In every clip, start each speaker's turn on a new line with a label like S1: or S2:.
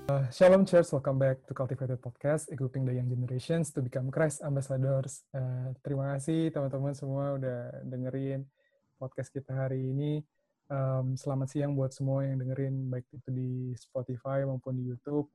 S1: Shalom Church, welcome back to Cultivated Podcast, equipping the young generations to become Christ Ambassadors. Terima kasih teman-teman semua udah dengerin podcast kita hari ini. Selamat siang buat semua yang dengerin, baik itu di Spotify maupun di YouTube.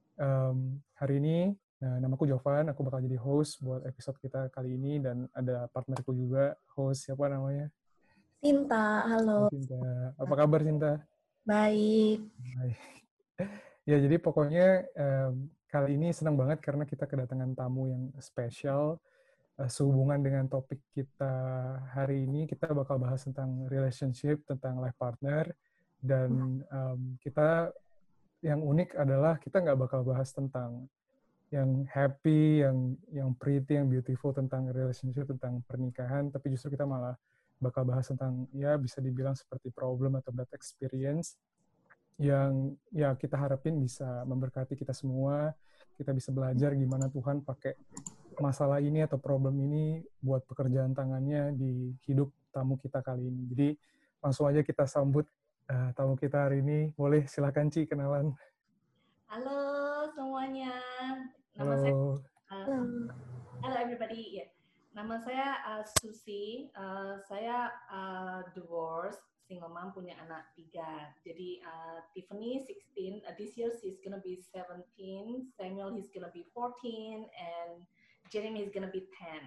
S1: Hari ini, namaku Jovan, aku bakal jadi host buat episode kita kali ini, dan ada partnerku juga, host, siapa namanya?
S2: Sinta, halo.
S1: Sinta. Apa kabar, Sinta?
S2: Baik.
S1: Baik. Ya, jadi pokoknya kali ini senang banget karena kita kedatangan tamu yang spesial. Sehubungan dengan topik kita hari ini, kita bakal bahas tentang relationship, tentang life partner, dan kita yang unik adalah kita nggak bakal bahas tentang yang happy, yang pretty, yang beautiful tentang relationship, tentang pernikahan, tapi justru kita malah bakal bahas tentang, ya bisa dibilang seperti problem atau bad experience yang ya kita harapin bisa memberkati kita semua. Kita bisa belajar gimana Tuhan pakai masalah ini atau problem ini buat pekerjaan tangannya di hidup tamu kita kali ini. Jadi langsung aja kita sambut tamu kita hari ini. Boleh silakan Ci kenalan.
S3: Halo semuanya. Nama saya
S1: Halo.
S3: Hello everybody. Yeah. Nama saya Susi. Saya divorce, single mom, punya anak 3. Jadi Tiffany 16. This year she's gonna be 17. Samuel he's gonna be 14 and Jeremy is gonna be 10.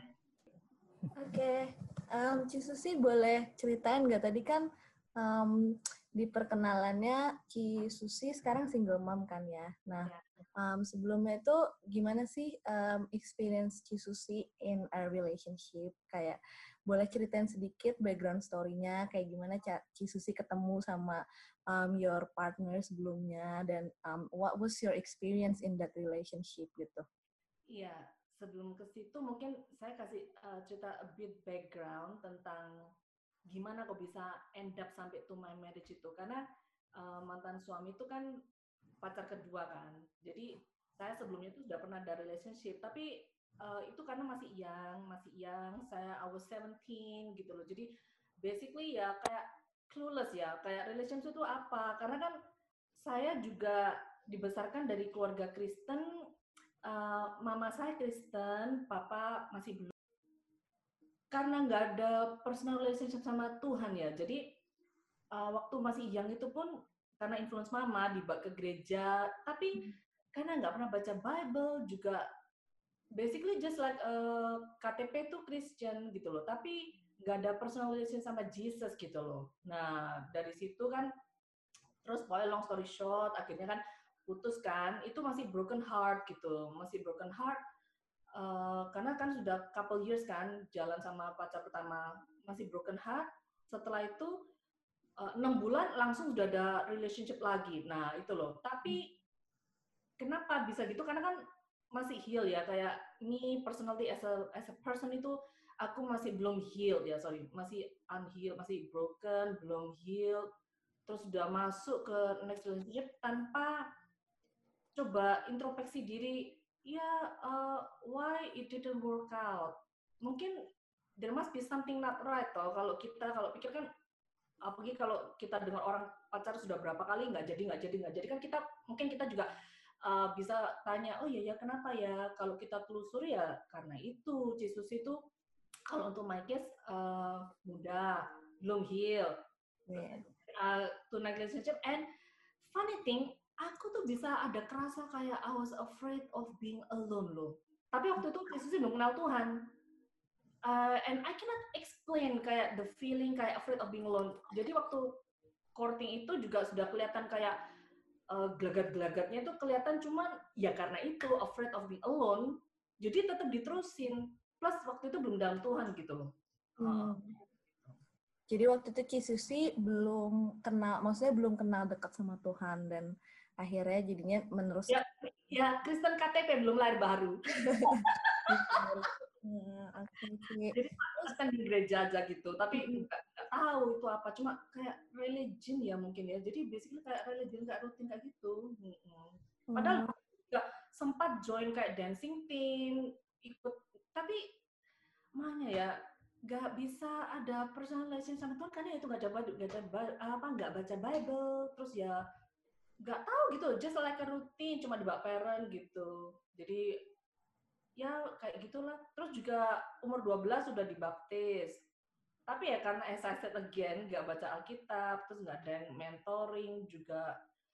S2: Oke. Ci Susi boleh ceritain nggak tadi kan di perkenalannya Ci Susi sekarang single mom kan ya. Nah, sebelumnya itu gimana sih experience Ci Susi in a relationship? Kayak boleh ceritain sedikit background story-nya, kayak gimana Ci Susi ketemu sama your partner sebelumnya, dan what was your experience in that relationship gitu?
S3: Iya, sebelum ke situ mungkin saya kasih cerita a bit background tentang gimana kok bisa end up sampai to my marriage itu. Karena mantan suami itu kan pacar kedua kan. Jadi saya sebelumnya itu sudah pernah ada relationship, tapi itu karena masih young, I was 17 gitu loh. Jadi basically ya kayak clueless ya, kayak relationship itu apa. Karena kan saya juga dibesarkan dari keluarga Kristen, mama saya Kristen, papa masih belum. Karena nggak ada personal relationship sama Tuhan ya. Jadi waktu masih young itu pun karena influence mama dibawa ke gereja, tapi karena nggak pernah baca Bible juga, basically just like KTP itu Christian gitu loh, tapi nggak ada personal relationship sama Jesus gitu loh. Nah dari situ kan, terus pokoknya long story short, akhirnya kan putus kan, itu masih broken heart gitu, karena kan sudah couple years kan jalan sama pacar pertama, masih broken heart. Setelah itu 6 bulan langsung sudah ada relationship lagi. Nah itu loh. Tapi kenapa bisa gitu? Karena kan masih heal ya. Kayak ini personality as a person itu aku masih belum healed ya, masih unhealed, masih broken, belum healed. Terus sudah masuk ke next relationship tanpa coba introspeksi diri. Ya, why it didn't work out? Mungkin there must be something not right toh. Kalau pikir kan, apalagi kalau kita dengan orang pacar sudah berapa kali nggak jadi kan kita juga bisa tanya, oh iya ya kenapa ya, kalau kita telusuri ya karena itu Jesus itu. Kalau untuk my case muda, belum heal, tonight relationship, and funny thing, aku tuh bisa ada kerasa kayak I was afraid of being alone loh. Tapi waktu itu Jesus belum kenal Tuhan. And I cannot explain kayak the feeling kayak afraid of being alone. Jadi waktu courting itu juga sudah kelihatan kayak gelagat-gelagatnya itu kelihatan, cuman ya karena itu afraid of being alone, jadi tetap diterusin. Plus waktu itu belum dalam Tuhan gitu loh.
S2: Jadi waktu itu Ci Susi belum kenal dekat sama Tuhan, dan akhirnya jadinya meneruskan.
S3: Ya Kristen KTP, belum lahir baru. Jadi kan di gereja aja gitu, tapi nggak tahu itu apa, cuma kayak religion ya mungkin ya. Jadi basically kayak religion nggak rutin kayak gitu. Padahal nggak sempat join kayak dancing team, ikut, tapi mana ya nggak bisa ada personal relation sama Tuhan karena itu nggak baca Bible, terus ya nggak tahu gitu, just like a routine, cuma dibaperen gitu. Jadi ya kayak gitulah. Terus juga umur 12 sudah dibaptis. Tapi ya karena as I said again, nggak baca Alkitab, terus nggak ada yang mentoring juga.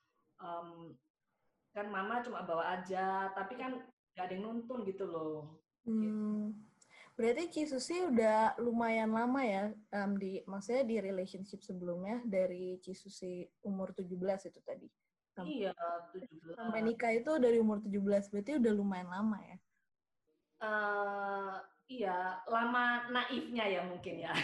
S3: Kan mama cuma bawa aja, tapi kan nggak ada yang nuntun gitu loh.
S2: Berarti Ci Susi udah lumayan lama ya, maksudnya di relationship sebelumnya, dari Ci Susi umur 17 itu tadi.
S3: Iya, 17.
S2: Sampai nikah itu dari umur 17, berarti udah lumayan lama ya?
S3: Iya, lama naifnya ya mungkin ya.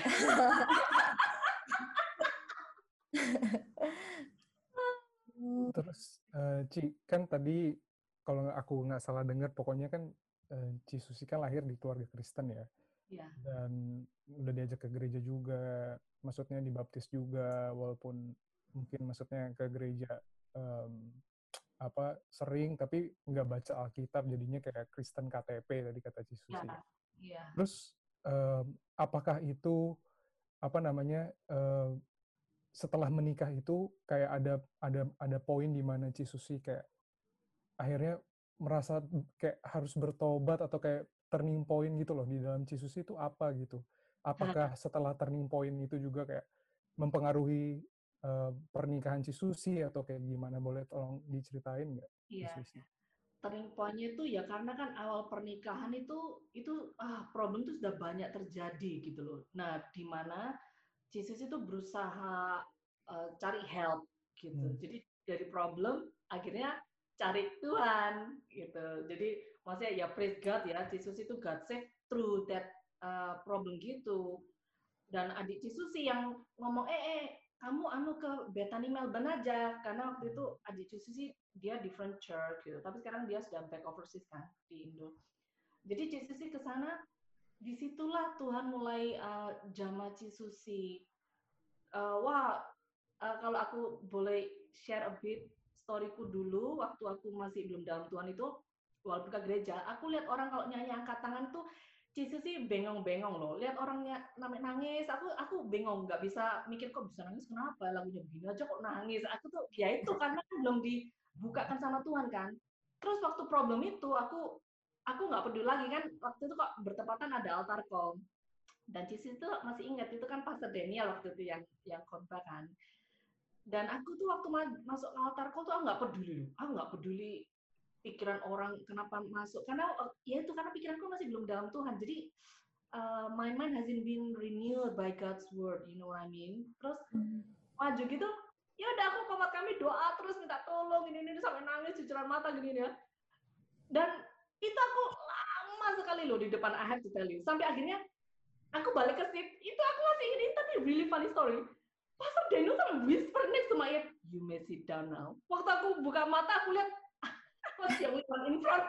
S1: Terus Ci, kan tadi kalau aku nggak salah dengar, pokoknya kan Ci Susi kan lahir di keluarga Kristen ya.
S3: Iya.
S1: Dan udah diajak ke gereja juga, maksudnya dibaptis juga, walaupun mungkin maksudnya ke gereja sering, tapi nggak baca Alkitab, jadinya kayak Kristen KTP tadi kata Ci Susi.
S3: Iya.
S1: Terus apakah itu setelah menikah itu kayak ada poin di mana Ci Susi kayak akhirnya merasa kayak harus bertobat atau kayak turning point gitu loh di dalam Ci Susi itu apa gitu? Apakah setelah turning point itu juga kayak mempengaruhi pernikahan Ci Susi atau kayak gimana? Boleh tolong diceritain nggak?
S3: Iya.
S1: Ci Susi?
S3: Turning point-nya itu ya karena kan awal pernikahan itu problem itu sudah banyak terjadi gitu loh. Nah, di mana Jesus itu berusaha cari help gitu. Jadi dari problem akhirnya cari Tuhan gitu. Jadi maksudnya ya praise God ya, Jesus itu God save through that problem gitu. Dan adik Cisusi yang ngomong, kamu ke Bethany Melbourne aja, karena waktu itu adik Cisusi dia different church gitu, tapi sekarang dia sudah back overseas kan di Indo. Jadi Cisusi ke sana, disitulah Tuhan mulai jama Cisusi. Kalau aku boleh share a bit storyku dulu, waktu aku masih belum dalam Tuhan itu, walaupun ke gereja, aku lihat orang kalau nyanyi angkat tangan tuh Cici sih bengong-bengong loh. Lihat orangnya nangis, aku bengong, nggak bisa mikir kok bisa nangis kenapa, lagunya begini aja kok nangis. Aku tuh ya itu karena belum dibukakan sama Tuhan kan. Terus waktu problem itu aku nggak peduli lagi kan, waktu itu kok bertepatan ada altar call. Dan Cici itu masih ingat itu kan Pastor Daniel waktu itu yang khotbah kan. Dan aku tuh waktu masuk altar call tuh aku nggak peduli pikiran orang kenapa masuk, karena ya itu karena pikiranku masih belum dalam Tuhan, jadi my mind hasn't been renewed by God's word, you know what I mean. Terus maju gitu, ya udah aku komat kami doa terus minta tolong ini sampai nangis cucuran mata gini ya. Dan itu aku lama sekali loh di depan, I have to tell you, sampai akhirnya aku balik ke seat itu, aku masih ingat ini, tapi really funny story. Pastor Daniel kan whisper next to my ear, you may sit down now. Waktu aku buka mata aku lihat was the only one in front.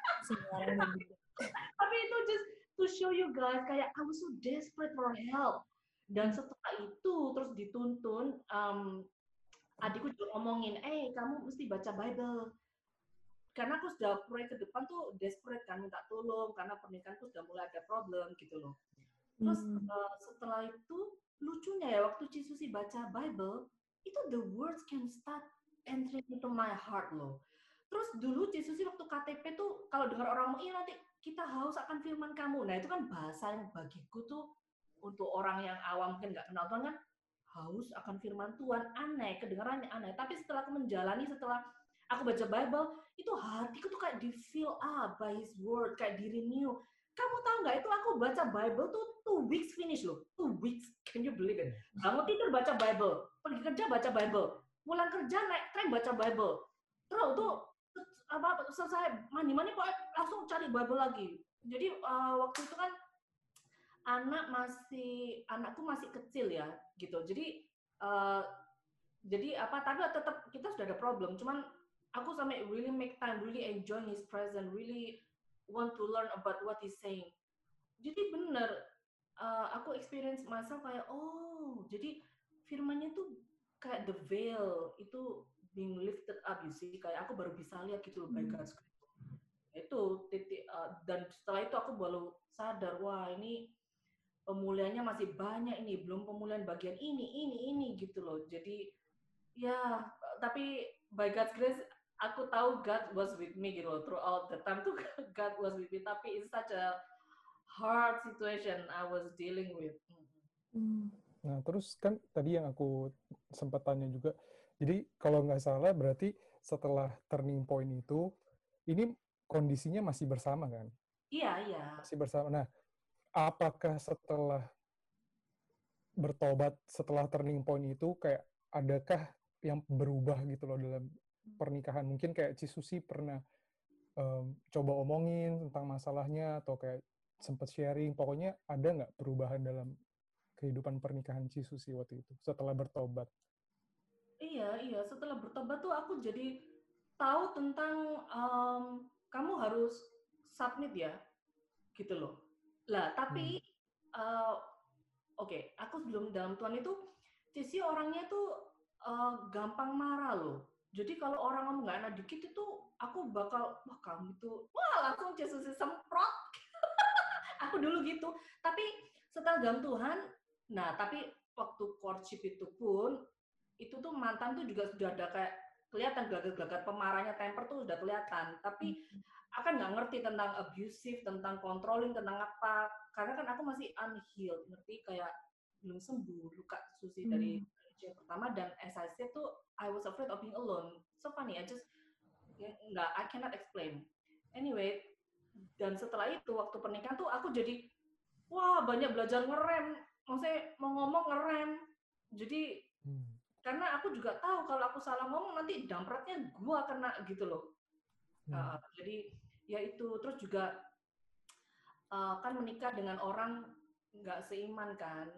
S3: Tapi itu just to show you guys, kayak I was so desperate for help. Dan setelah itu terus dituntun, adikku juga ngomongin, kamu mesti baca Bible. Karena aku sudah pray ke depan tuh desperate kan, minta tolong karena pernikahanku sudah mulai ada problem gitu loh. Terus setelah itu lucunya ya, waktu Cisusi baca Bible, itu the words can start entering into my heart loh. Terus dulu Cisusi waktu KTP tuh kalau dengar orang ngomong, nanti kita haus akan firman kamu. Nah itu kan bahasa yang bagiku tuh untuk orang yang awam mungkin nggak kenal Tuhan kan, haus akan firman Tuhan, aneh, kedengarannya aneh. Tapi setelah aku menjalani, setelah aku baca Bible, itu hatiku tuh kayak di fill up by His word, kayak di renew. Kamu tahu nggak, itu aku baca Bible tuh 2 weeks finish loh. 2 weeks, can you believe it? Bangun tidur baca Bible, pergi kerja baca Bible, pulang kerja naik tren baca Bible. Terus tuh selesai mandi-mandi langsung cari Bible lagi. Jadi waktu itu kan anakku masih kecil ya, gitu. Jadi tapi tetap kita sudah ada problem. Cuman aku sampai really make time, really enjoy His presence, really want to learn about what He's saying. Jadi benar, aku experience myself kayak, jadi firmannya tuh kayak the veil itu being lifted up, you see, kayak aku baru bisa lihat gitu loh, by God's grace. Itu titik, dan setelah itu aku baru sadar, wah ini pemulihannya masih banyak ini, belum pemulihan bagian ini gitu loh. Jadi ya, tapi by God's grace, aku tahu God was with me gitu loh. Throughout the time tuh God was with me. Tapi it's such a hard situation I was dealing with.
S1: Nah, terus kan tadi yang aku sempat tanya juga, jadi kalau nggak salah berarti setelah turning point itu, ini kondisinya masih bersama kan?
S3: Iya.
S1: Masih bersama. Nah, apakah setelah bertobat, setelah turning point itu, kayak adakah yang berubah gitu loh dalam pernikahan? Mungkin kayak Cisusi pernah coba omongin tentang masalahnya, atau kayak sempat sharing, pokoknya ada nggak perubahan dalam kehidupan pernikahan Cisusi waktu itu setelah bertobat?
S3: Iya. Setelah bertobat tuh aku jadi tahu tentang kamu harus submit ya, gitu loh. Lah, tapi oke, aku sebelum dalam Tuhan itu, Cici orangnya tuh gampang marah loh. Jadi kalau orang ngomong nggak enak dikit itu, aku bakal, wah kamu tuh, wah langsung Cici semprot. Aku dulu gitu. Tapi setelah dalam Tuhan, nah tapi waktu courtship itu pun, itu tuh mantan tuh juga sudah ada kayak kelihatan gelagat-gelagat pemarahnya, temper tuh udah kelihatan. Tapi akan nggak ngerti tentang abusive, tentang controlling, tentang apa. Karena kan aku masih unhealed, ngerti kayak belum sembuh luka Susi dari yang pertama. Dan as I said tuh, I was afraid of being alone. So funny, I cannot explain. Anyway, dan setelah itu waktu pernikahan tuh aku jadi wah banyak belajar ngerem. Maksudnya mau ngomong ngerem. Jadi karena aku juga tahu kalau aku salah ngomong nanti dampratnya gua kena gitu loh. Jadi ya itu, terus juga kan menikah dengan orang nggak seiman kan.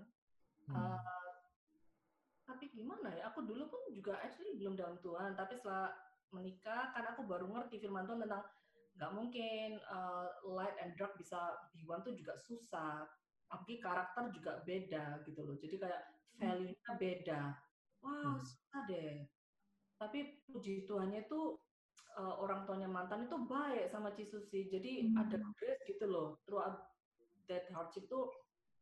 S3: Tapi gimana ya, aku dulu pun juga actually belum dalam Tuhan, tapi setelah menikah kan aku baru ngerti firman Tuhan tentang nggak mungkin light and dark bisa be one tuh juga susah. Apalagi karakter juga beda gitu loh. Jadi kayak value-nya beda. Wah, susah deh. Tapi puji Tuhannya itu orang tuanya mantan itu baik sama Cisusi. Jadi ada grace gitu loh. Throughout that hardship tuh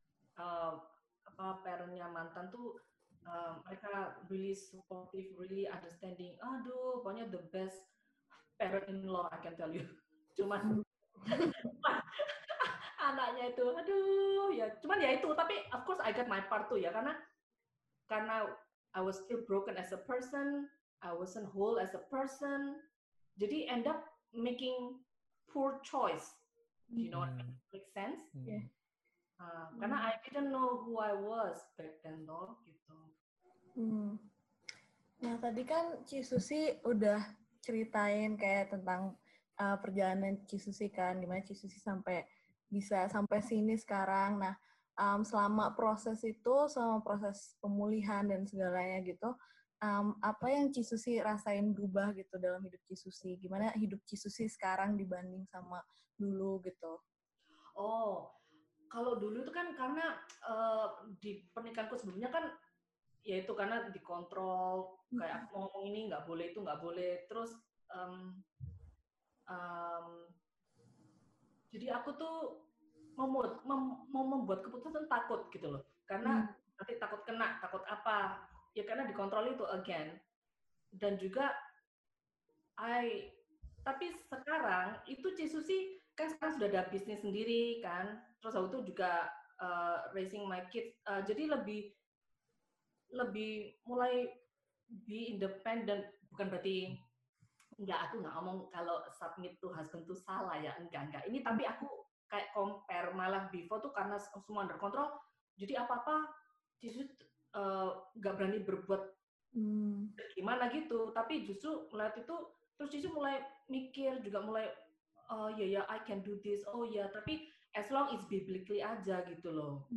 S3: parentnya mantan tuh mereka really supportive, really understanding. Aduh, pokoknya the best parent-in-law I can tell you. Cuman anaknya itu, aduh ya. Cuman ya itu, tapi of course I got my part tuh ya, karena I was still broken as a person, I wasn't whole as a person. Jadi end up making poor choice. You know what I mean? Make sense?
S2: Yeah.
S3: Karena I didn't know who I was back then loh, gitu.
S2: Nah, tadi kan Cisusi udah ceritain kayak tentang perjalanan Cisusi kan, gimana Cisusi sampai bisa sampai sini sekarang. Nah, selama proses itu, selama proses pemulihan dan segalanya gitu, apa yang Cisusi rasain berubah gitu dalam hidup Cisusi? Gimana hidup Cisusi sekarang dibanding sama dulu gitu?
S3: Oh, kalau dulu itu kan karena di pernikahanku sebelumnya kan ya itu karena dikontrol, kayak aku mau ngomong ini nggak boleh, itu nggak boleh. Terus jadi aku tuh mau membuat keputusan takut gitu loh, karena nanti takut kena, takut apa ya, karena dikontrol itu again. Dan juga tapi sekarang itu Cisusi kan sekarang sudah ada bisnis sendiri kan, terus aku tuh juga raising my kids, jadi lebih mulai be independent. Bukan berarti aku nggak ngomong kalau submit to husband tuh salah ya, enggak ini, tapi aku kayak compare, malah before tuh karena semua under control, jadi apa-apa Cisus nggak berani berbuat gimana gitu. Tapi justru melihat itu terus Cisus mulai mikir juga, mulai oh ya I can do this, oh ya, tapi as long it's biblically aja gitu loh.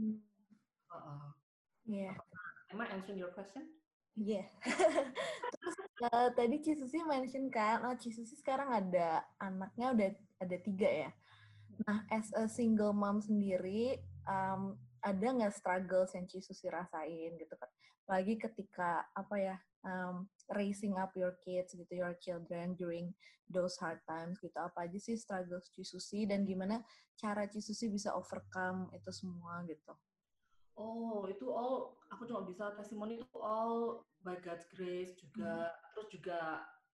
S2: Yeah.
S3: Am I answering your question?
S2: Iya. Terus tadi Cisusi mention kan, Cisusi sekarang ada anaknya udah ada 3 ya. Nah, as a single mom sendiri, ada nggak struggles yang Cisusi rasain gitu kan? Lagi ketika raising up your kids gitu, your children during those hard times gitu. Apa aja sih struggles Cisusi dan gimana cara Cisusi bisa overcome itu semua gitu?
S3: Oh, itu all, aku cuma bisa testimoni itu all by God's grace juga. Terus juga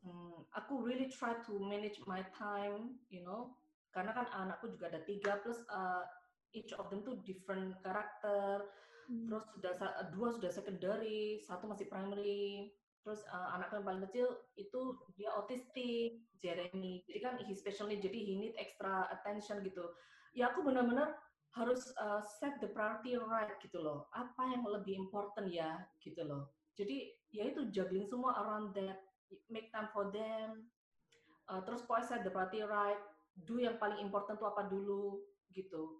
S3: aku really try to manage my time, karena kan anakku juga ada 3 plus each of them tuh different karakter. Terus dua sudah secondary, satu masih primary. Terus anakku yang paling kecil itu dia autistik, Jeremy. Jadi kan he special need, jadi he need extra attention gitu. Ya aku benar-benar harus set the priority right gitu loh. Apa yang lebih important ya gitu loh. Jadi ya itu juggling semua around that, make time for them. Terus pokoknya set the priority right, do yang paling important tuh apa dulu gitu.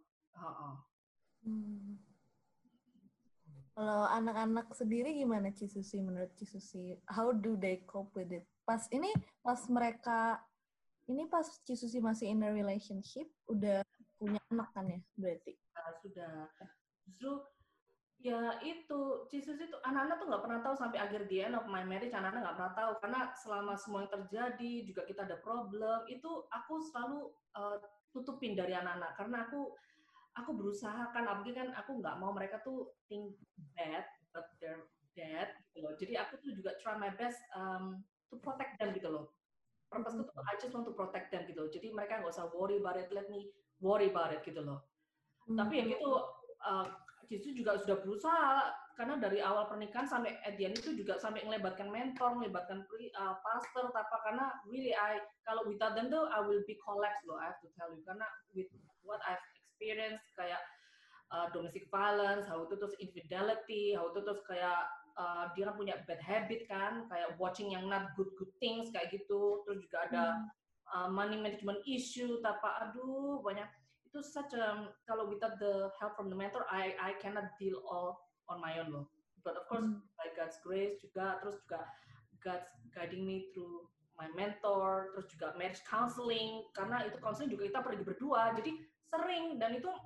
S2: Kalau anak-anak sendiri gimana Ci Susi, menurut Ci Susi? How do they cope with it? Pas Ci Susi masih in a relationship, udah punya anak kan ya berarti?
S3: Sudah. Justru ya itu, Ci Susi tuh anak-anak tuh nggak pernah tahu sampai akhir the end of my marriage, anak-anak nggak pernah tahu karena selama semua yang terjadi juga kita ada problem itu aku selalu tutupin dari anak-anak karena aku berusaha kan, apalagi kan aku nggak mau mereka tuh think bad but they're dead gitu loh. Jadi aku tuh juga try my best to protect them gitu loh. Purpose tuh I just want to protect them gitu loh. Jadi mereka nggak usah worry about it, let me worry about it gitu loh. Tapi ya gitu, Cisu juga sudah berusaha karena dari awal pernikahan sampai at the end itu juga sampai ngelebatkan mentor, ngelebatkan pastor, apa karena really kalau without them tuh I will be collapse loh, I have to tell you, karena with what I've experienced kayak domestic violence, how itu terus infidelity, how itu terus kayak dia kan punya bad habit kan, kayak watching yang not good things kayak gitu, terus juga ada money management issue, aduh banyak. Itu kalau without the help from the mentor, I cannot deal all on my own loh. But of course, by God's grace juga, terus juga God's guiding me through my mentor, terus juga marriage counseling, karena itu counseling juga kita pergi berdua, jadi sering, dan itu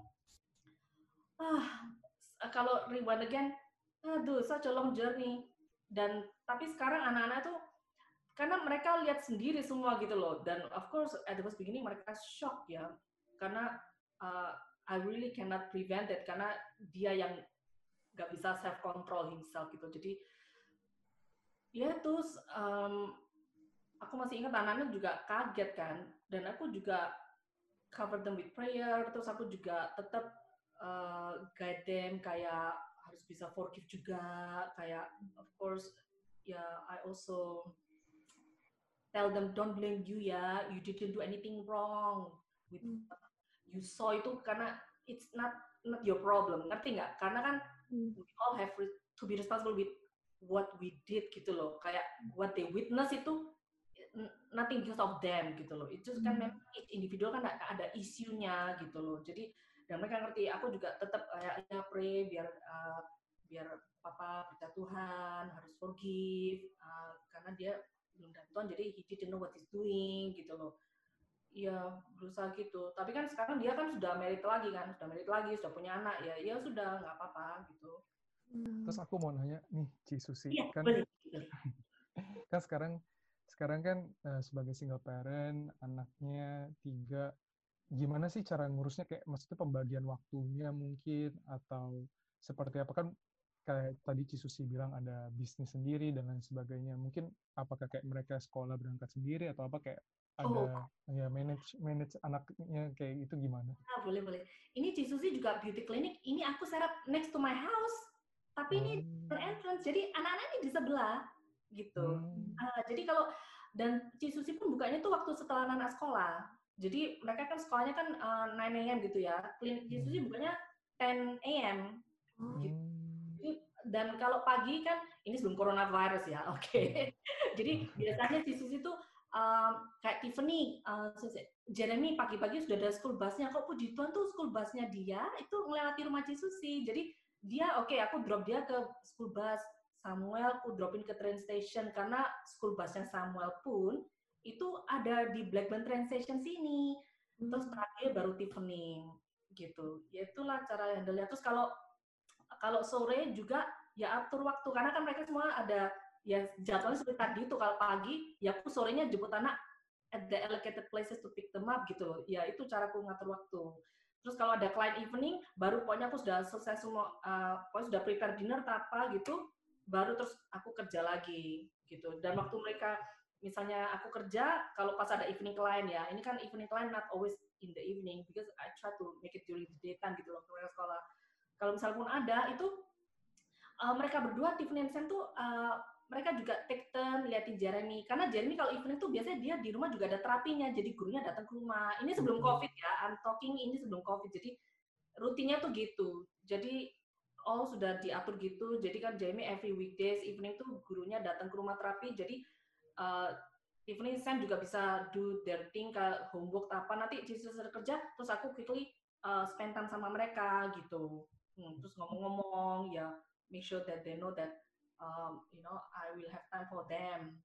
S3: kalau rewind again, aduh, such a long journey. Dan tapi sekarang anak-anak tuh karena mereka lihat sendiri semua gitu loh, dan of course at the first beginning mereka shock ya, karena I really cannot prevent it karena dia yang nggak bisa self control himself gitu. Jadi ya terus aku masih ingat anak-anak juga kaget kan, dan aku juga cover them with prayer. Terus aku juga tetap guide them kayak harus bisa forgive juga, kayak of course ya I also tell them don't blame you ya, you didn't do anything wrong with you saw itu karena it's not your problem, ngerti nggak? Karena kan we all have to be responsible with what we did gitu loh, kayak what they witness itu nothing because of them gitu loh, itu kan memang individual kan ada isunya gitu loh. Jadi dan mereka ngerti, aku juga tetap kayak ya pray biar papa berita Tuhan, harus forgive karena dia belum dari Tuhan, jadi he didn't know what he's doing gitu loh. Iya, berusaha gitu. Tapi kan sekarang dia kan sudah married lagi, sudah punya anak, ya sudah, nggak apa-apa gitu.
S1: Terus aku mau nanya nih, Ci Susi,
S3: ya,
S1: kan sekarang kan sebagai single parent, anaknya 3, gimana sih cara ngurusnya, kayak maksudnya pembagian waktunya mungkin, atau seperti apa, kan kayak tadi Ci Susi bilang ada bisnis sendiri dan lain sebagainya, mungkin apakah kayak mereka sekolah berangkat sendiri atau apa, kayak ada ya manage anaknya kayak gitu gimana?
S3: Boleh. Ini Ci Susi juga beauty clinic, ini aku set up next to my house, tapi ini entrance, jadi anak-anak ini di sebelah gitu. Jadi kalau dan Ci Susi pun bukanya tuh waktu setelah anak sekolah. Jadi mereka kan sekolahnya kan 9 AM gitu ya. Klinik Ci Susi bukanya 10 AM. Gitu. Dan kalau pagi kan ini sebelum coronavirus ya, oke. Jadi biasanya Ci Susi tuh kayak Tiffany, Jeremy pagi-pagi sudah ada school busnya. Kok puji Tuhan tuh school busnya dia itu melewati rumah Ci Susi. Jadi dia aku drop dia ke school bus. Samuel aku dropin ke train station karena school busnya Samuel pun itu ada di Blackburn train station sini. Terus terakhir baru Tiffany gitu. Ya itulah cara yang dilihat. Terus kalau sore juga ya atur waktu karena kan mereka semua ada ya jadwalnya seperti tadi itu. Kalau pagi ya aku sorenya jemput anak at the allocated places to pick them up gitu loh. Ya itu caraku ngatur waktu. Terus kalau ada client evening baru pokoknya aku sudah selesai semua, pokoknya sudah prepare dinner apa gitu, baru terus aku kerja lagi gitu. Dan waktu mereka misalnya aku kerja, kalau pas ada evening client ya, ini kan evening client not always in the evening, because I try to make it during the daytime gitu loh, mereka sekolah. Kalau misal pun ada, itu mereka berdua, Tiffany and Sam tuh mereka juga take turn liatin Jeremy, karena Jeremy kalau evening tuh biasanya dia di rumah juga ada terapinya, jadi gurunya datang ke rumah. Ini sebelum COVID ya, I'm talking ini sebelum COVID, jadi rutinnya tuh gitu. Jadi sudah diatur gitu, jadi kan Jeremy every weekdays evening tuh gurunya datang ke rumah terapi, jadi Tiffany Sam juga bisa do their thing, ke homework apa, nanti di selesai kerja, terus aku quickly spend time sama mereka gitu. Terus ngomong-ngomong ya, make sure that they know that I will have time for them.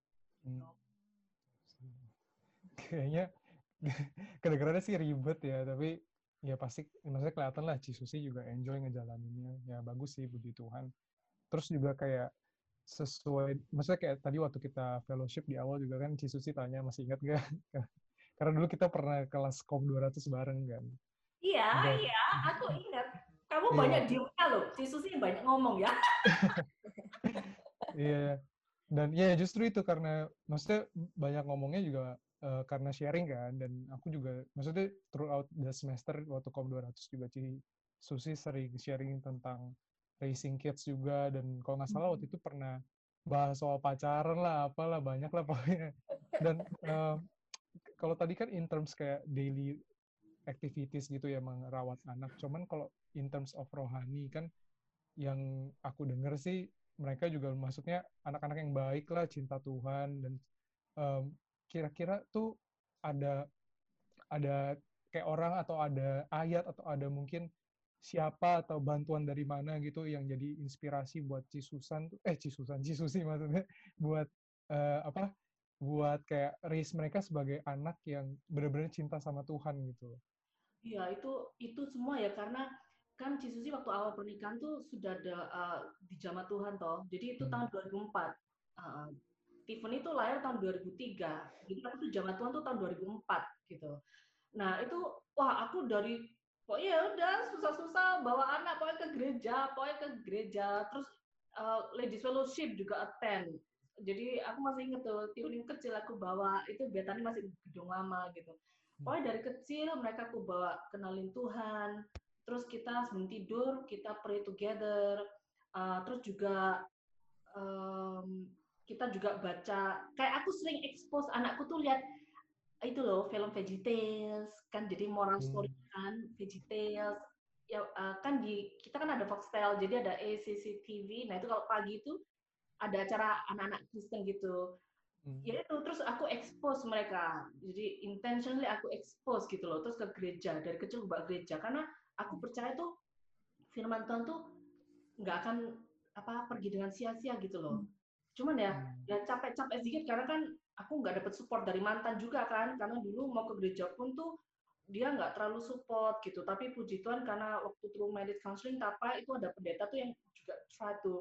S1: Kayaknya kedengarannya sih ribet ya, tapi ya pasti maksudnya kelihatan lah Cisusi juga enjoy ngejalaninnya. Ya bagus sih, puji Tuhan. Terus juga kayak sesuai, maksudnya kayak tadi waktu kita fellowship di awal juga kan Cisusi tanya, masih ingat gak? Karena dulu kita pernah kelas KOM 200 bareng kan.
S3: Iya, aku ingat. Kamu banyak diemnya loh, Cisusi banyak ngomong ya.
S1: Iya, dan ya justru itu karena maksudnya banyak ngomongnya juga karena sharing kan, dan aku juga maksudnya throughout the semester waktu KOM 200 juga Susi sering sharing tentang raising kids juga, dan kalau nggak salah waktu itu pernah bahas soal pacaran lah, apalah banyak lah pokoknya. Dan kalau tadi kan in terms kayak daily activities gitu ya, merawat anak, cuman kalau in terms of rohani kan yang aku dengar sih mereka juga maksudnya anak-anak yang baik lah, cinta Tuhan, dan kira-kira tuh ada kayak orang atau ada ayat atau ada mungkin siapa atau bantuan dari mana gitu yang jadi inspirasi buat Cisusi maksudnya buat apa buat kayak raise mereka sebagai anak yang benar-benar cinta sama Tuhan gitu.
S3: Iya, itu semua ya, karena kan Cisusi waktu awal pernikahan tuh sudah ada di Jama Tuhan toh. Jadi itu tahun 2004. Tiffany tuh lahir tahun 2003. Jadi aku tuh Jama Tuhan tuh tahun 2004 gitu. Nah, itu wah aku dari pokoknya udah susah-susah bawa anak pokoknya ke gereja. Terus Ladies Fellowship juga attend. Jadi aku masih inget tuh, Tiffany kecil aku bawa, itu Betani masih gedung lama gitu. Pokoknya dari kecil mereka aku bawa kenalin Tuhan, terus kita sebelum tidur kita pray together, terus juga kita juga baca, kayak aku sering expose anakku tuh lihat itu loh film VeggieTales kan, jadi moral story kan VeggieTales ya, kan kita kan ada Foxtel, jadi ada ACCTV. Nah itu kalau pagi itu ada acara anak-anak Kristen gitu. Ya itu, terus aku expose mereka, jadi intentionally aku expose gitu loh, terus ke gereja, dari kecil ke gereja, karena aku percaya tuh firman Tuhan tuh nggak akan pergi dengan sia-sia gitu loh. Cuman ya capek-capek sedikit, karena kan aku nggak dapet support dari mantan juga kan, karena dulu mau ke gereja pun tuh dia nggak terlalu support gitu. Tapi puji Tuhan karena waktu through marriage counseling itu ada pendeta tuh yang juga try to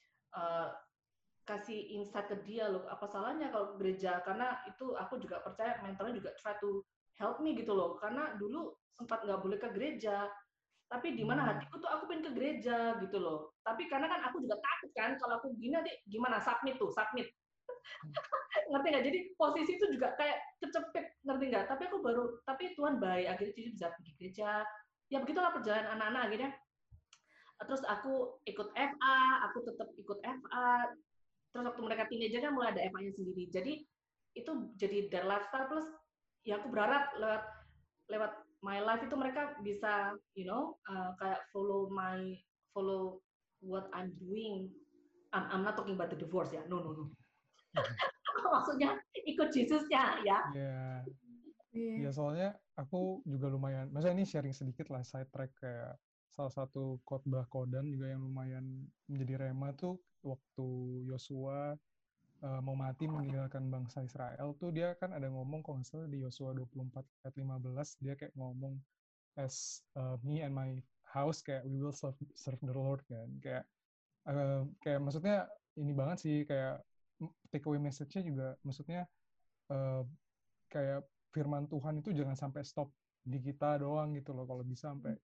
S3: kasih insight ke dia loh, apa salahnya kalau ke gereja, karena itu aku juga percaya mentornya juga try to help me gitu loh, karena dulu sempat nggak boleh ke gereja, tapi di mana hatiku tuh aku pengen ke gereja gitu loh. Tapi karena kan aku juga takut kan, kalau aku gini nanti gimana submit ngerti nggak, jadi posisi itu juga kayak kecepet, ngerti nggak, tapi Tuhan baik, akhirnya jadi bisa pergi gereja, ya begitulah perjalanan anak-anak akhirnya. Terus aku ikut FA, aku tetap ikut FA. Terus waktu mereka teenager kan mulai ada FA-nya sendiri. Jadi itu jadi their lifestyle, plus ya aku berharap lewat my life itu mereka bisa kayak follow what I'm doing. I'm not talking about the divorce ya. No. Maksudnya ikut Yesusnya ya.
S1: Ya soalnya aku juga lumayan, maksudnya ini sharing sedikit lah, side track, kayak salah satu khotbah Kodan juga yang lumayan menjadi rema tuh waktu Yosua mau mati meninggalkan bangsa Israel tuh, dia kan ada ngomong, kalau nggak salah di Yosua 24 ayat 15, dia kayak ngomong, as me and my house, kayak we will serve the Lord kan, kayak maksudnya ini banget sih, kayak takeaway message-nya juga maksudnya kayak firman Tuhan itu jangan sampai stop di kita doang gitu loh, kalau bisa sampai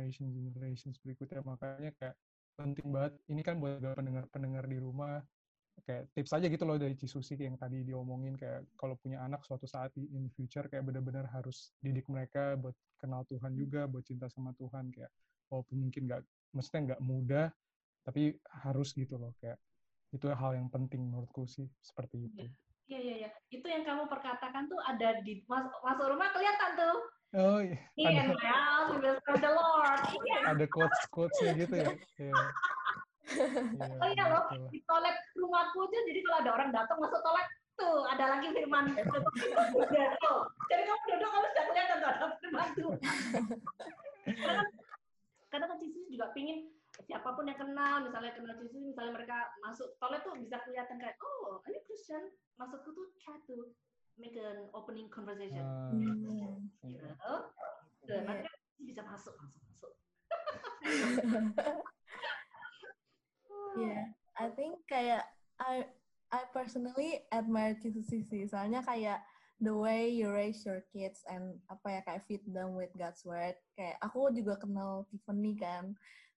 S1: generations berikutnya. Makanya kayak penting banget ini kan buat pendengar-pendengar di rumah, kayak tips aja gitu loh dari Cisusi yang tadi diomongin, kayak kalau punya anak suatu saat in future kayak benar-benar harus didik mereka buat kenal Tuhan juga, buat cinta sama Tuhan, kayak walaupun mungkin maksudnya nggak mudah, tapi harus gitu loh, kayak itu hal yang penting menurutku sih, seperti itu.
S3: Iya. Itu yang kamu perkatakan tuh ada di masuk rumah kelihatan tuh.
S1: Oh iya.
S3: In my house we will serve the Lord.
S1: Ada quotes-nya gitu ya. Yeah.
S3: Oh iya loh, di toilet rumahku aja, jadi kalau ada orang datang masuk toilet, tuh ada lagi firman. Jadi kamu duduk, kamu sudah kelihatan tuh ada firman tuh. Karena kan Cici juga pingin siapapun yang kenal, misalnya kenal Cici, misalnya mereka masuk toilet tuh bisa kelihatan kayak, oh ini Christian, maksudku tuh try to make an opening conversation. Nanti bisa masuk.
S2: Yeah, I think kayak I personally admire Cisusi sih. Soalnya kayak the way you raise your kids and kayak feed them with God's word. Kayak aku juga kenal Tiffany kan.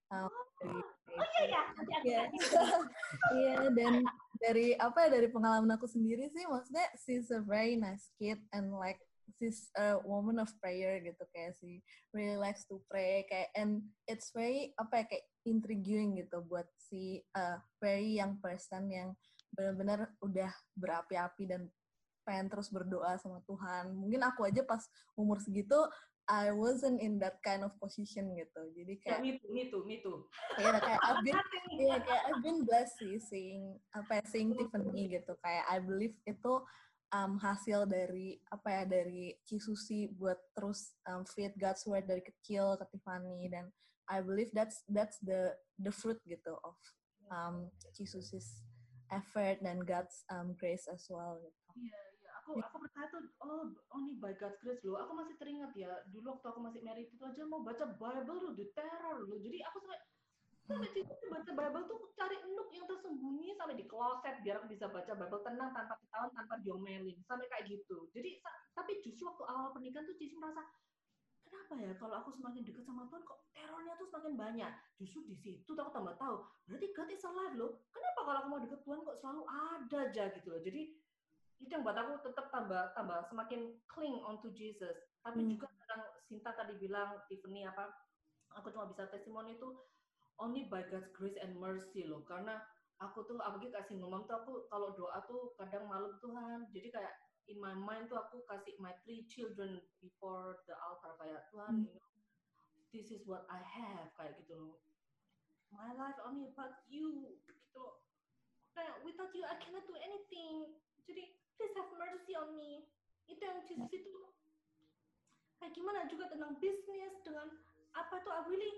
S2: Iya, dan dari dari pengalaman aku sendiri sih, maksudnya she's a very nice kid and like she's a woman of prayer gitu, kayak she really likes to pray, kayak and it's very kayak intriguing gitu buat si very young person yang benar-benar udah berapi-api dan pengen terus berdoa sama Tuhan. Mungkin aku aja pas umur segitu I wasn't in that kind of position gitu. Jadi kayak
S3: me too.
S2: Ya kayak I've been blessed sih seeing Tiffany gitu. Kayak I believe itu hasil dari dari Cisusi buat terus feed God's word dari kecil ke Tiffany, dan I believe that's the fruit gitu of Cisusi's effort dan God's grace as well gitu.
S3: Iya. Aku percaya tuh, oh ini by God's grace loh. Aku masih teringat ya, dulu waktu aku masih married itu aja mau baca Bible loh, diteror loh. Jadi aku sampai baca Bible tuh cari nook yang tersembunyi sampai di kloset biar aku bisa baca Bible tenang tanpa ketahuan, tanpa diomelin, sampai kayak gitu. Jadi tapi justru waktu awal pernikahan tuh Cici merasa, kenapa ya kalau aku semakin dekat sama Tuhan kok terornya tuh semakin banyak. Justru di situ aku tambah tahu, berarti God is alive loh. Kenapa kalau aku mau dekat Tuhan kok selalu ada aja gitu loh. Jadi itu yang buat aku tetap tambah semakin cling on to Jesus. Tapi juga tentang Sinta tadi bilang, Tiffany aku cuma bisa testimoni itu only by God's grace and mercy loh. Karena aku tuh apalagi kasih ngomong tuh, aku kalau doa tuh kadang malam Tuhan. Jadi kayak in my mind tuh aku kasih my 3 children before the altar, kayak Tuhan, this is what I have, kayak gitu loh. My life only about you gitu. Kayak without you I cannot do anything. Jadi please have mercy on me. Itu yang Jesus itu kayak gimana juga tentang bisnis, dengan apa tuh I really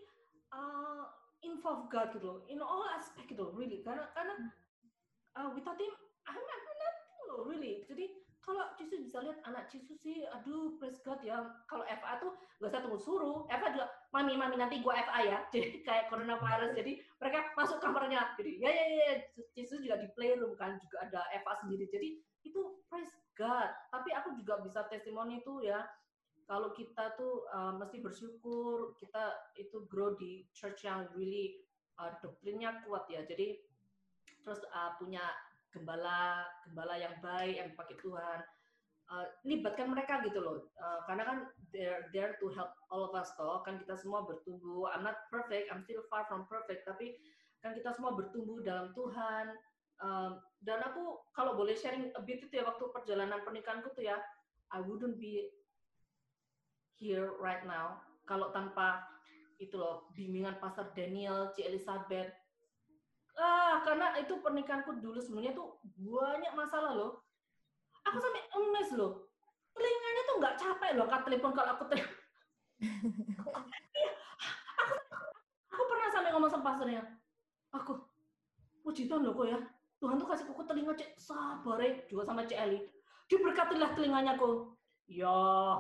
S3: involve God gitu loh, in all aspect gitu loh, really. Karena without him I'm nothing loh, really. Jadi kalau Jesus bisa lihat anak Jesus sih, aduh praise God ya. Kalau FA tuh gak usah tunggu suruh, FA juga mami nanti gua FA ya. Jadi kayak coronavirus, jadi mereka masuk kamarnya, jadi ya Jesus juga di playroom kan, juga ada FA sendiri. Jadi itu praise God. Tapi aku juga bisa testimoni tuh ya, kalau kita tuh mesti bersyukur kita itu grow di church yang really doktrinnya kuat ya. Jadi terus punya gembala yang baik yang dipakai Tuhan, libatkan mereka gitu loh, karena kan they're there to help all of us toh, kan kita semua bertumbuh. I'm not perfect, I'm still far from perfect, tapi kan kita semua bertumbuh dalam Tuhan. Dan aku kalau boleh sharing a bit itu ya, waktu perjalanan pernikahanku tuh ya, I wouldn't be here right now kalau tanpa itu loh bimbingan Pastor Daniel, Ci Elizabeth. Karena itu pernikahanku dulu sebelumnya tuh banyak masalah loh. Aku sampai emes loh. Telinganya tuh nggak capek loh angkat telepon kalau aku telepon. Aku pernah sampai ngomong sama pastornya, aku puji Tuhan loh kok ya, Tuhan tuh kasih kuku telinga cek sabar juga sama Cik Eli, diberkatilah telinganya kok. Ya.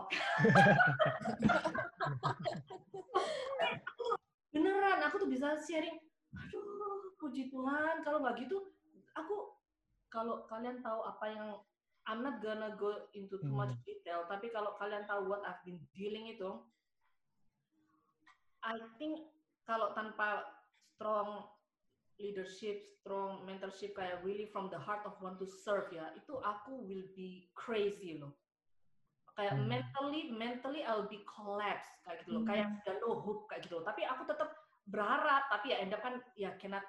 S3: Beneran, aku tuh bisa sharing. Aduh, puji Tuhan. Kalau nggak gitu, kalau kalian tahu apa yang, I'm not gonna go into too much detail, tapi kalau kalian tahu what I've been dealing itu, I think kalau tanpa strong leadership, strong mentorship kayak really from the heart of want to serve ya, itu aku will be crazy loh. Kayak mentally I'll be collapse kayak gitu loh, kayak udah no hope kayak gitu loh. Tapi aku tetap berharap, tapi ya end up kan ya cannot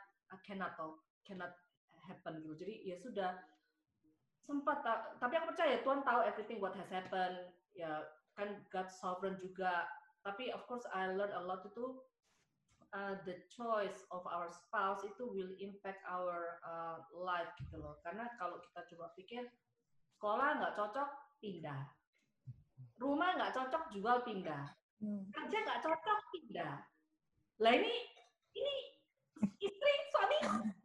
S3: happen gitu. Jadi ya sudah sempat, tapi aku percaya Tuhan tahu everything what has happened, ya kan God sovereign juga. Tapi of course I learned a lot itu the choice of our spouse itu will impact our life gitu loh. Karena kalau kita coba pikir sekolah nggak cocok pindah, rumah nggak cocok jual pindah, kerja nggak cocok pindah. Lah ini istri suami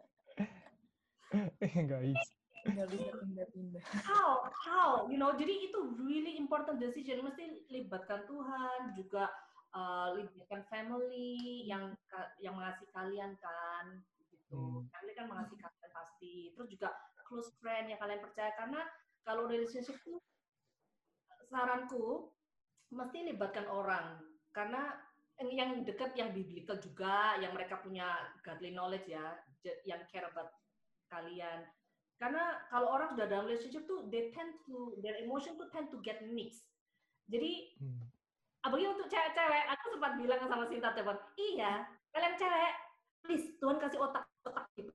S2: nggak bisa pindah-pindah.
S3: How jadi itu really important decision, mesti libatkan Tuhan juga, libatkan family yang mengasihi kalian kan gitu. Family kan mengasihi kalian pasti, terus juga close friend yang kalian percaya, karena kalau relationship itu saranku mesti libatkan orang, karena yang dekat, yang biblical juga, yang mereka punya godly knowledge ya, yang care about kalian. Karena kalau orang sudah dalam relationship tuh, their emotion tuh tend to get mixed. Jadi, apalagi untuk cewek-cewek, aku sempat bilang sama Sinta teman, iya, kalian cewek, please Tuhan kasih otak gitu.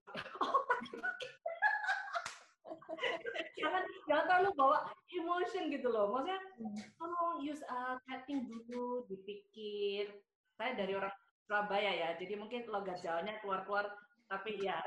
S3: jangan terlalu bawa emotion gitu loh. Maksudnya, tolong use chatting dulu, dipikir. Saya dari orang Surabaya ya, jadi mungkin logat Jawanya keluar-keluar, tapi ya.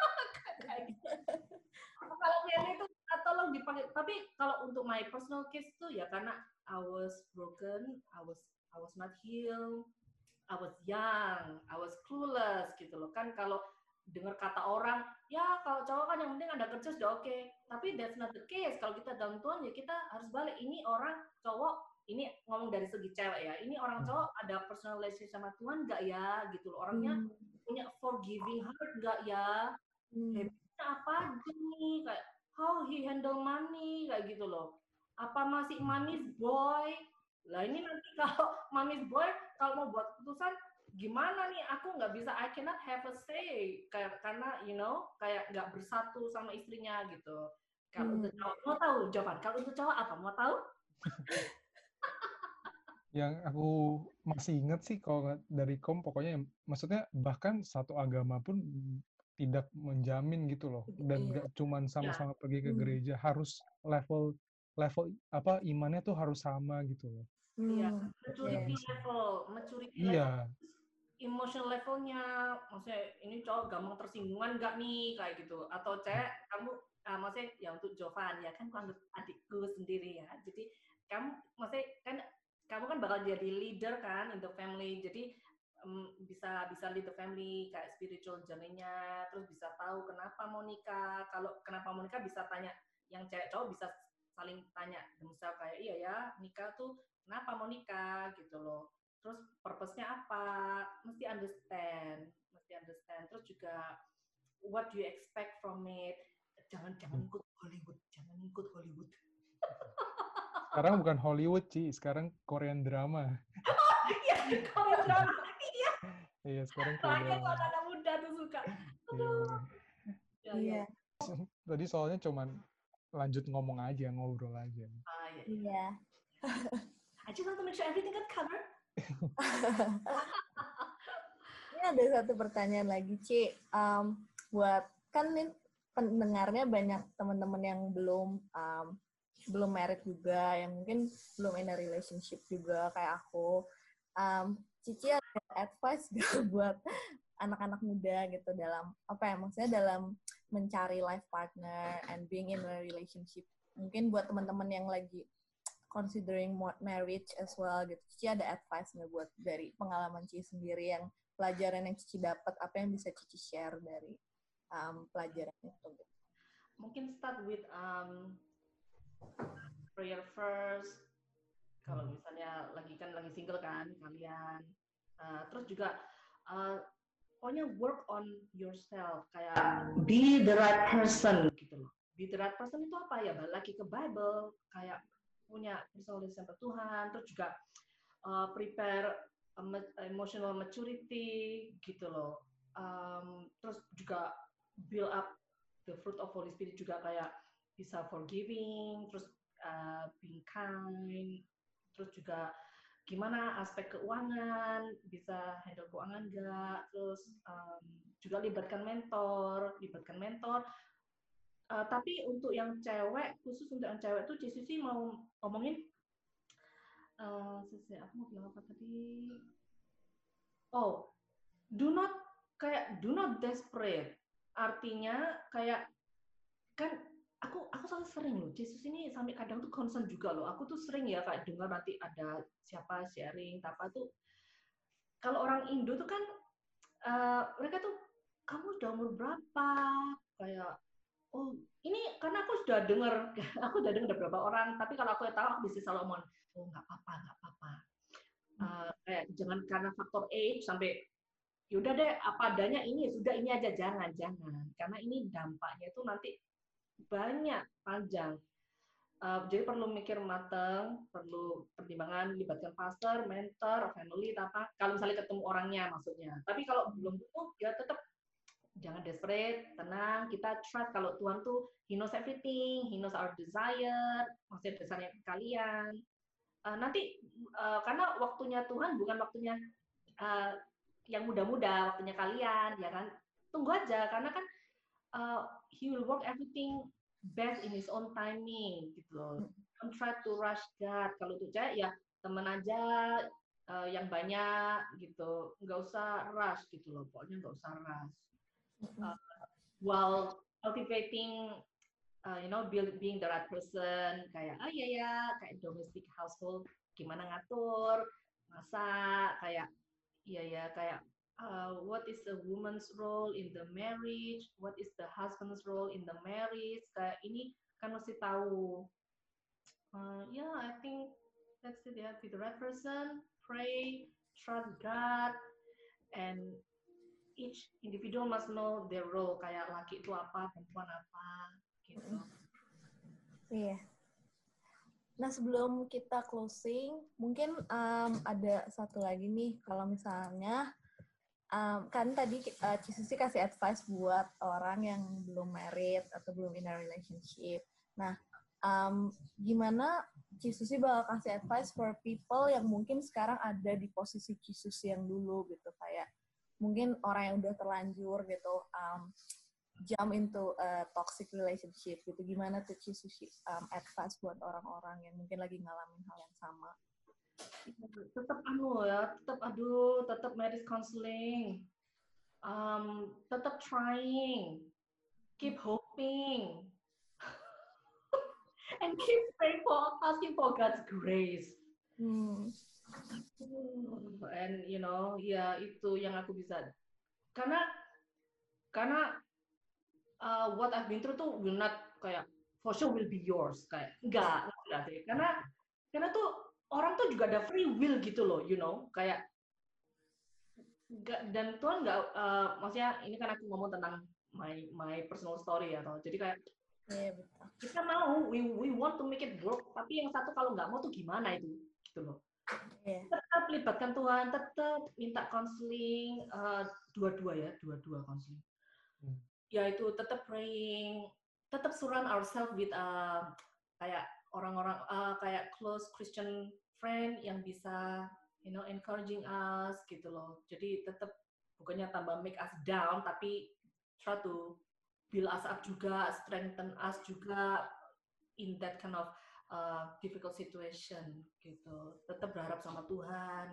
S3: Kalau kalian itu tolong dipakai. Tapi kalau untuk my personal case tuh ya karena I was broken, I was not healed, I was young, I was clueless gitu loh. Kan kalau dengar kata orang, ya kalau cowok kan yang penting ada kerja sudah oke. Tapi that's not the case. Kalau kita dalam Tuhan ya kita harus balik. Ini orang cowok, ini ngomong dari segi cewek ya. Ini orang cowok ada personal relationship sama Tuhan nggak ya gitu loh. Orangnya punya forgiving heart nggak ya? Habitnya apa aja nih, kayak how he handle money kayak gitu loh. Apa masih mommy's boy? Lah ini nanti kalau mommy's boy kalau mau buat keputusan gimana nih, aku nggak bisa, I cannot have a say karena kayak nggak bersatu sama istrinya gitu. Kalau untuk cowok, mau tahu jawaban? Kalau untuk cowok apa? Mau tahu?
S1: Yang aku masih ingat sih kalau dari Kom, pokoknya maksudnya bahkan satu agama pun tidak menjamin gitu loh, dan nggak cuman sama-sama pergi ke gereja, harus level apa imannya tuh harus sama gitu loh.
S3: Iya, maturity level, emotional levelnya, maksudnya ini cowok gampang tersinggungan nggak nih kayak gitu, atau cewek kamu maksudnya ya untuk Jovan ya kan, aku anggap adikku sendiri ya, jadi kamu maksudnya kan kamu kan bakal jadi leader kan in the family, jadi bisa lead the family kayak spiritual journey-nya, terus bisa tahu kenapa mau nikah. Kalau kenapa mau nikah bisa tanya, yang cewek cowok bisa saling tanya themselves kayak iya ya nikah tuh kenapa mau nikah gitu loh. Terus purpose-nya apa? Mesti understand. Terus juga what do you expect from it? Jangan ikut Hollywood.
S1: Sekarang bukan Hollywood sih, sekarang Korean drama.
S3: Iya, Korean drama. Iya.
S1: Iya, sekarang Korean drama.
S3: Kalau anak muda tuh suka.
S2: Iya.
S1: Tadi soalnya cuman lanjut ngomong aja, ngobrol aja.
S2: Iya.
S3: I just want to make sure everything got covered.
S2: Ini ada satu pertanyaan lagi, Ci. Buat kan nih pendengarnya banyak teman-teman yang belum married juga, yang mungkin belum in a relationship juga kayak aku. Cici ada advice gak buat anak-anak muda gitu dalam maksudnya dalam mencari life partner and being in a relationship? Mungkin buat teman-teman yang lagi considering marriage as well gitu. Cici ada advice nggak buat dari pengalaman Cici sendiri, yang pelajaran yang Cici dapat, apa yang bisa Cici share dari pelajaran itu? Gitu.
S3: Mungkin start with prayer first. Kalau misalnya lagi single kan kalian, terus juga pokoknya work on yourself, kayak be the right person gitu loh. Be the right person itu apa ya? Balik lagi ke Bible, kayak punya personal relationship sama Tuhan, terus juga prepare emotional maturity gitu loh. terus juga build up the fruit of Holy Spirit juga kayak bisa forgiving, terus being kind, terus juga gimana aspek keuangan, bisa handle keuangan nggak, terus juga libatkan mentor. Tapi untuk yang cewek, khusus untuk yang cewek tuh Cisusi mau ngomongin, aku mau bilang apa tadi? Oh, do not desperate. Artinya kayak kan aku selalu sering loh, Yesus ini sampai kadang tuh concern juga loh. Aku tuh sering ya kayak dengar nanti ada siapa sharing apa tuh. Kalau orang Indo tuh kan mereka tuh kamu udah umur berapa? Kayak oh ini karena aku sudah dengar dari beberapa orang. Tapi kalau aku tahu aku bisa selalu ngomong oh nggak apa-apa. Kayak jangan karena faktor age sampai yaudah deh apa adanya ini sudah ini aja jangan karena ini dampaknya itu nanti banyak panjang. Jadi perlu mikir matang, perlu pertimbangan libatkan pastor, mentor, family, apa. Kalau misalnya ketemu orangnya maksudnya. Tapi kalau belum ketemu ya tetap jangan desperate, tenang. Kita trust kalau Tuhan tuh He knows everything, He knows our desire, maksudnya desire kalian. Nanti karena waktunya Tuhan bukan waktunya yang muda-muda, waktunya kalian, ya kan? Tunggu aja karena kan He will work everything best in his own timing gitu loh. Don't try to rush God. Kalau itu ya temen aja yang banyak gitu. Nggak usah rush gitu loh. Pokoknya nggak usah rush. While cultivating, being the right person. Kayak kayak domestic household. Gimana ngatur, masak, kayak kayak what is the woman's role in the marriage, what is the husband's role in the marriage, kayak ini kan mesti tahu. I think that's it ya. Be the right person, pray, trust God, and each individual must know their role. Kayak laki itu apa, perempuan apa, gitu.
S2: Iya. Nah, sebelum kita closing, mungkin ada satu lagi nih, kalau misalnya kan tadi Cisusi kasih advice buat orang yang belum married atau belum in a relationship. Nah, gimana Cisusi bakal kasih advice for people yang mungkin sekarang ada di posisi Cisusi yang dulu gitu, kayak mungkin orang yang udah terlanjur gitu jump into a toxic relationship gitu. Gimana tuh Cisusi advice buat orang-orang yang mungkin lagi ngalamin hal yang sama?
S3: Tetap marriage counseling, tetap trying, keep hoping, and keep praying asking for God's grace. And itu yang aku bisa, karena what I've been through tuh will not kayak for sure will be yours, kayak enggak sih, karena tuh orang tuh juga ada free will gitu loh, kayak dan Tuhan nggak, maksudnya ini kan aku ngomong tentang my personal story ya, jadi kayak kita mau we want to make it work, tapi yang satu kalau nggak mau tuh gimana itu, gitu loh. Tetap libatkan Tuhan, tetap minta konseling, dua-dua konseling. Ya itu tetap praying, tetap surround ourselves with kayak orang-orang kayak close Christian friend yang bisa encouraging us gitu loh. Jadi tetap bukannya tambah make us down, tapi try to build us up juga, strengthen us juga in that kind of difficult situation gitu. Tetap berharap sama Tuhan.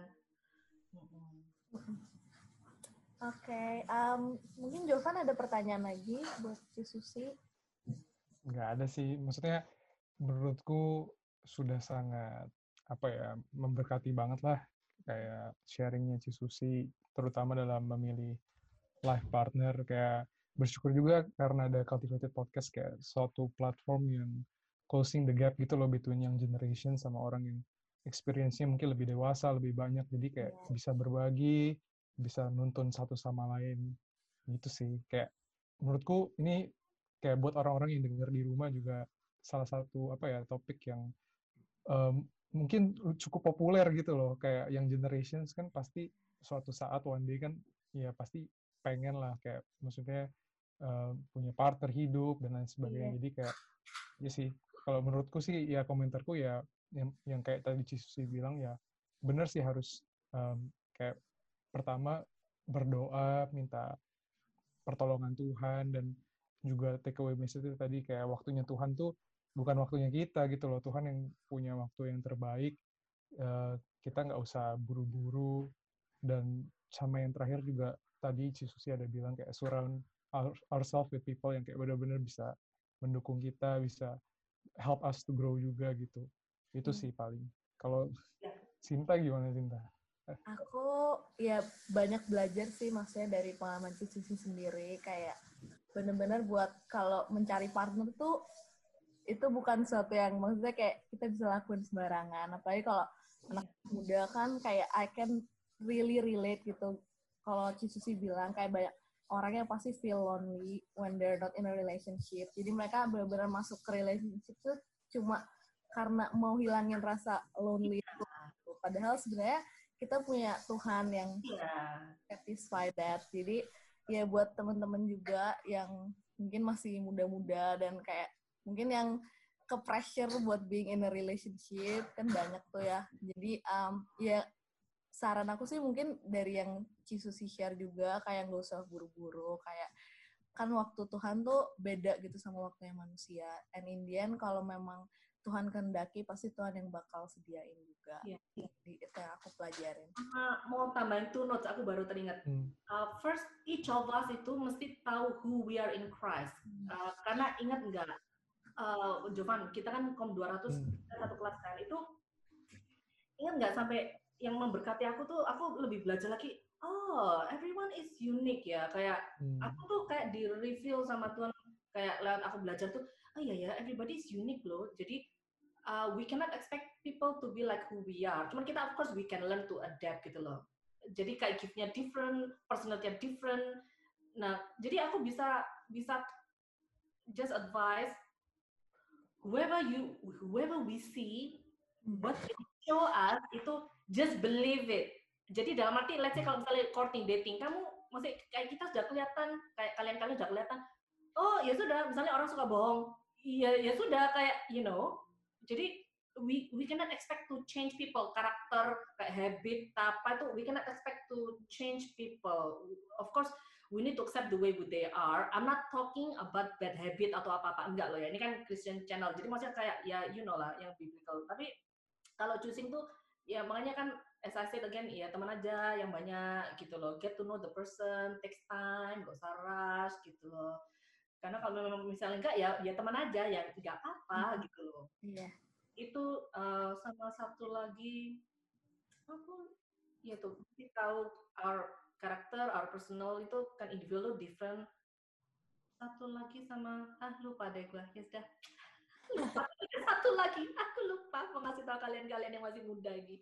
S2: Oke, mungkin Jovan ada pertanyaan lagi buat Cisusi?
S1: Nggak ada sih, maksudnya menurutku sudah sangat memberkati banget lah kayak sharingnya Cisusi, terutama dalam memilih life partner. Kayak bersyukur juga karena ada Cultivated Podcast kayak suatu platform yang closing the gap gitu loh between young generation sama orang yang experience-nya mungkin lebih dewasa, lebih banyak, jadi kayak bisa berbagi, bisa nuntun satu sama lain gitu sih. Kayak menurutku ini kayak buat orang-orang yang dengar di rumah juga salah satu topik yang mungkin cukup populer gitu loh. Kayak young generations kan pasti suatu saat one day kan ya pasti pengen lah kayak maksudnya punya partner hidup dan lain sebagainya. Jadi kayak ya sih kalau menurutku sih ya komentarku ya yang kayak tadi Cisusi bilang ya benar sih harus kayak pertama berdoa minta pertolongan Tuhan dan juga take away message itu tadi kayak waktunya Tuhan tuh bukan waktunya kita gitu loh. Tuhan yang punya waktu yang terbaik. Kita nggak usah buru-buru. Dan sama yang terakhir juga tadi Cisusi ada bilang kayak surround ourselves with people yang kayak benar-benar bisa mendukung kita, bisa help us to grow juga gitu. Itu sih paling. Kalau Sinta gimana Sinta?
S2: Aku ya banyak belajar sih maksudnya dari pengalaman Cisusi sendiri, kayak bener-bener buat kalau mencari partner tuh itu bukan sesuatu yang maksudnya kayak kita bisa lakuin sembarangan, apalagi kalau anak muda kan kayak I can really relate gitu. Kalau Cisusi bilang kayak banyak orang yang pasti feel lonely when they're not in a relationship, jadi mereka benar-benar masuk ke relationship tuh cuma karena mau hilangin rasa lonely itu. Padahal sebenarnya kita punya Tuhan yang satisfy that. Jadi ya buat teman-teman juga yang mungkin masih muda-muda dan kayak mungkin yang ke pressure buat being in a relationship kan banyak tuh ya. Jadi ya saran aku sih mungkin dari yang Cisusi share juga kayak nggak usah buru-buru, kayak kan waktu Tuhan tuh beda gitu sama waktunya manusia. And in the end kalau memang Tuhan kehendaki pasti Tuhan yang bakal sediain juga. Jadi itu yang aku pelajarin.
S3: Mau tambahin two notes, aku baru teringat. First, each of us itu mesti tahu who we are in Christ. Karena ingat nggak, Jovan, kita kan KOM 200 satu kelas kan, itu ingat nggak sampai yang memberkati aku tuh, aku lebih belajar lagi, everyone is unique ya, kayak aku tuh kayak di reveal sama Tuhan, kayak lewat aku belajar tuh, iya ya, everybody is unique loh, jadi we cannot expect people to be like who we are, cuman kita of course we can learn to adapt gitu loh, jadi kayak gift-nya different, personality-nya different, nah jadi aku bisa just advise whoever we see, what they show us itu just believe it. Jadi dalam arti, let's say kalau misalnya courting, dating, kamu masih kayak kita sudah kelihatan, kayak kalian sudah kelihatan, oh ya sudah, misalnya orang suka bohong, ya sudah, kayak jadi we cannot expect to change people, karakter, kayak habit, apa itu, we cannot expect to change people. Of course, we need to accept the way they are. I'm not talking about bad habit atau apa-apa, enggak loh ya. Ini kan Christian channel, jadi maksudnya kayak ya lah yang biblical. Tapi kalau choosing tuh ya makanya kan as I said again, ya teman aja yang banyak gitu loh. Get to know the person, takes time, gak usah rush gitu loh. Karena kalau misalnya enggak ya teman aja ya enggak apa-apa gitu loh.
S2: Iya.
S3: Itu sama satu lagi aku ya tuh mesti tahu our karakter, our personal itu kan individual different. Satu lagi sama lupa deh gue, ya sudah lupa. Satu lagi aku lupa mau ngasih tahu kalian yang masih muda lagi.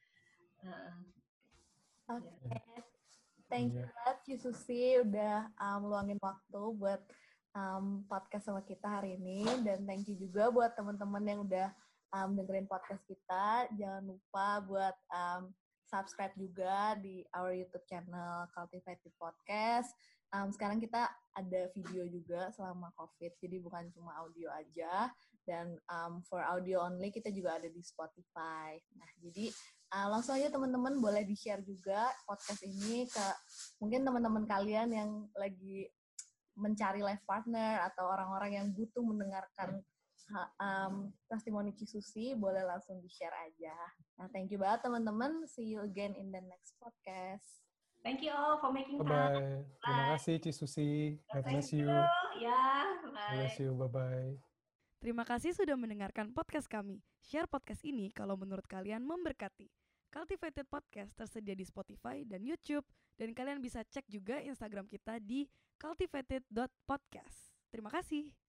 S2: Oke. Thank you banget Cisusi udah meluangin waktu buat podcast sama kita hari ini, dan thank you juga buat teman-teman yang udah dengerin podcast kita. Jangan lupa buat subscribe juga di our YouTube channel Cultivated Podcast. Sekarang kita ada video juga selama COVID, jadi bukan cuma audio aja. Dan for audio only kita juga ada di Spotify. Nah, jadi langsung aja teman-teman boleh di-share juga podcast ini ke mungkin teman-teman kalian yang lagi mencari life partner atau orang-orang yang butuh mendengarkan testimoni Cisusi, boleh langsung di-share aja. Nah, thank you banget teman-teman. See you again in the next podcast.
S3: Thank you all for making time.
S1: Bye-bye. Terima kasih Cisusi. God bless you.
S3: Bye.
S1: Bless you. Bye-bye.
S4: Terima kasih sudah mendengarkan podcast kami. Share podcast ini kalau menurut kalian memberkati. Cultivated Podcast tersedia di Spotify dan YouTube. Dan kalian bisa cek juga Instagram kita di cultivated.podcast. Terima kasih.